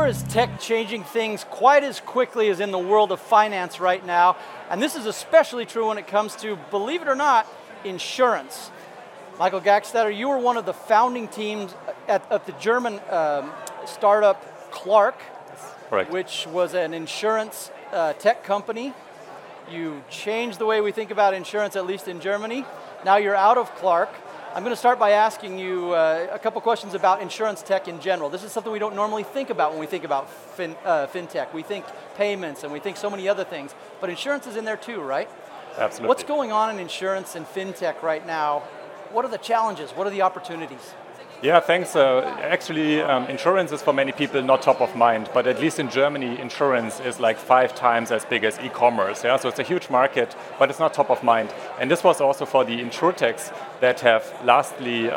Nowhere is tech changing things quite as quickly as in the world of finance right now, and this is especially true when it comes to, believe it or not, insurance. Michael Gackstadter, you were one of the founding teams at the German startup Clark, Correct. which was an insurance tech company. You changed the way we think about insurance, at least in Germany. Now you're out of Clark. I'm going to start by asking you a couple questions about insurance tech in general. This is something we don't normally think about when we think about fintech. We think payments and we think so many other things, but insurance is in there too, right? Absolutely. What's going on in insurance and fintech right now? What are the challenges? What are the opportunities? Yeah, thanks. Actually, insurance is for many people not top of mind, but at least in Germany, insurance is like 5 times as big as e-commerce. Yeah? So it's a huge market, but it's not top of mind. And this was also for the insurtechs that have lastly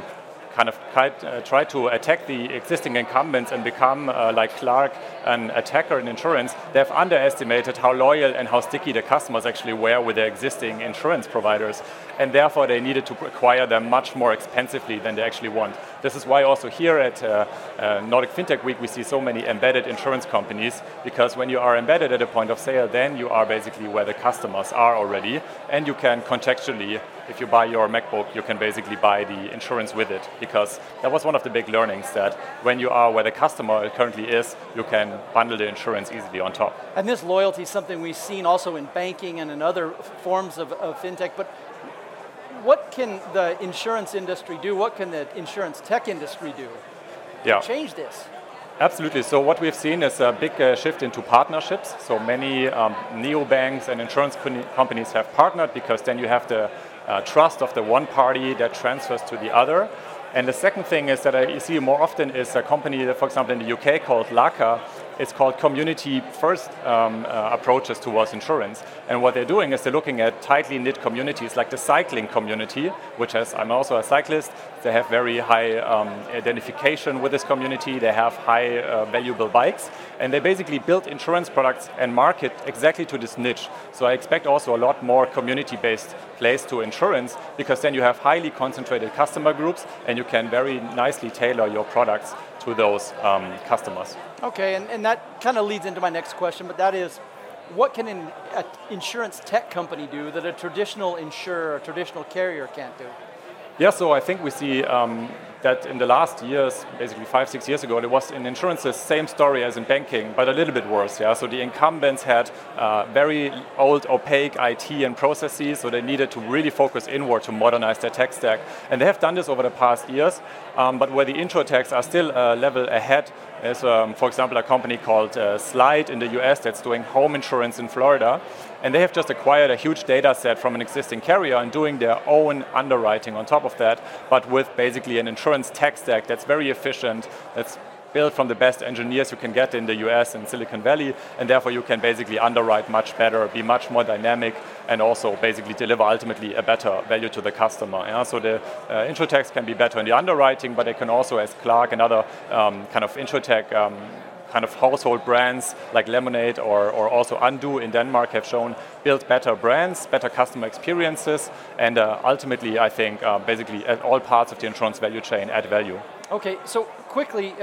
tried to attack the existing incumbents and become, like Clark, an attacker in insurance. They've underestimated how loyal and how sticky the customers actually were with their existing insurance providers. And therefore, they needed to acquire them much more expensively than they actually want. This is why also here at Nordic FinTech Week, we see so many embedded insurance companies, because when you are embedded at a point of sale, then you are basically where the customers are already, and you can contextually, if you buy your MacBook, you can basically buy the insurance with it, because that was one of the big learnings, that when you are where the customer currently is, you can bundle the insurance easily on top. And this loyalty is something we've seen also in banking and in other forms of fintech, but what can the insurance industry do? What can the insurance tech industry do to change this? Absolutely. So what we've seen is a big shift into partnerships. So many neobanks and insurance companies have partnered, because then you have the trust of the one party that transfers to the other. And the second thing is that I see more often is a company, that, for example, in the UK called Laka. It's called community-first approaches towards insurance. And what they're doing is they're looking at tightly knit communities, like the cycling community, which has, I'm also a cyclist. They have very high identification with this community. They have high valuable bikes. And they basically build insurance products and market exactly to this niche. So I expect also a lot more community-based plays to insurance, because then you have highly concentrated customer groups, and you can very nicely tailor your products to those customers. Okay, and that kind of leads into my next question, but that is, what can an insurance tech company do that a traditional insurer, a traditional carrier can't do? Yeah, so I think we see that in the last years, basically 5-6 years ago, there was in insurance the same story as in banking, but a little bit worse. Yeah, so the incumbents had very old, opaque IT and processes, so they needed to really focus inward to modernize their tech stack, and they have done this over the past years. But where the insurtechs are still a level ahead is, for example, a company called Slide in the US that's doing home insurance in Florida. And they have just acquired a huge data set from an existing carrier and doing their own underwriting on top of that, but with basically an insurance tech stack that's very efficient, that's built from the best engineers you can get in the US and Silicon Valley, and therefore you can basically underwrite much better, be much more dynamic, and also basically deliver ultimately a better value to the customer. Yeah? So the insurtechs can be better in the underwriting, but they can also, as Clark and other kind of insurtech kind of household brands like Lemonade or also Undo in Denmark have shown, build better brands, better customer experiences, and ultimately, I think, basically at all parts of the insurance value chain add value. Okay, so quickly,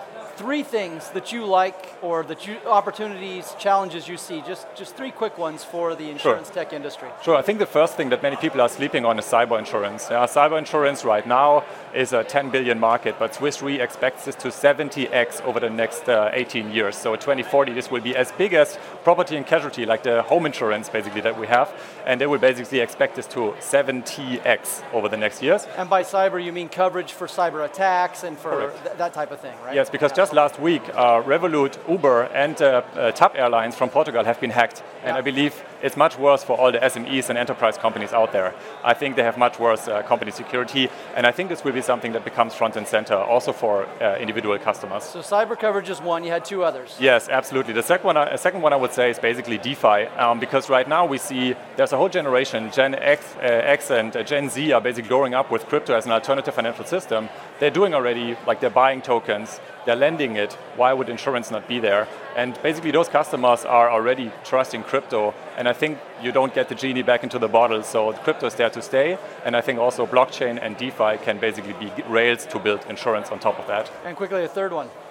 3 things that you like, or opportunities, challenges you see, just 3 quick ones for the insurance tech industry. Sure, I think the first thing that many people are sleeping on is cyber insurance. Cyber insurance right now is a 10 billion market, but Swiss Re expects this to 70x over the next 18 years. So 2040, this will be as big as property and casualty, like the home insurance basically that we have, and they will basically expect this to 70x over the next years. And by cyber, you mean coverage for cyber attacks and for that type of thing, right? Yes, because just last week, Revolut, Uber, and TAP Airlines from Portugal have been hacked. And I believe it's much worse for all the SMEs and enterprise companies out there. I think they have much worse company security, and I think this will be something that becomes front and center also for individual customers. So cyber coverage is one, you had 2 others. Yes, absolutely. The second one I would say is basically DeFi, because right now we see there's a whole generation, Gen X and Gen Z are basically growing up with crypto as an alternative financial system. They're doing already, like they're buying tokens, they're lending it. Why would insurance not be there? And basically those customers are already trusting crypto, and I think you don't get the genie back into the bottle, so crypto is there to stay, and I think also blockchain and DeFi can basically be rails to build insurance on top of that. And quickly, a third one.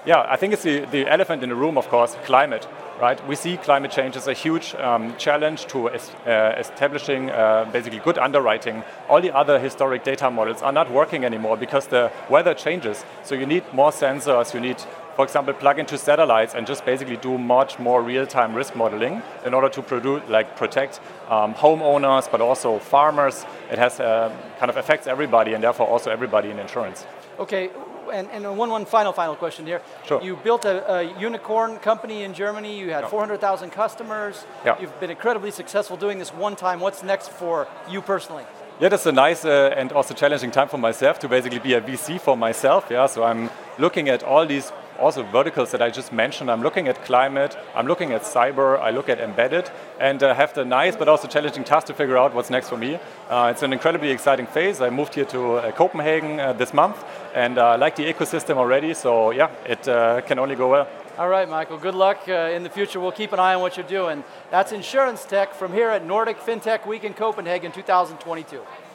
Yeah, I think it's the elephant in the room, of course, climate, right? We see climate change as a huge challenge to establishing basically good underwriting. All the other historic data models are not working anymore because the weather changes. So you need more sensors, you need, for example, plug into satellites and just basically do much more real-time risk modeling in order to protect homeowners, but also farmers. It has kind of affects everybody and therefore also everybody in insurance. Okay. And one final question here. Sure. You built a unicorn company in Germany. You had 400,000 customers. Yeah. You've been incredibly successful doing this one time. What's next for you personally? Yeah, that's a nice and also challenging time for myself to basically be a VC for myself. Yeah, so I'm looking at all these also verticals that I just mentioned. I'm looking at climate, I'm looking at cyber, I look at embedded, and have the nice but also challenging task to figure out what's next for me. It's an incredibly exciting phase. I moved here to Copenhagen this month, and I like the ecosystem already, so yeah, it can only go well. All right, Michael, good luck in the future. We'll keep an eye on what you're doing. That's Insurance Tech from here at Nordic FinTech Week in Copenhagen 2022.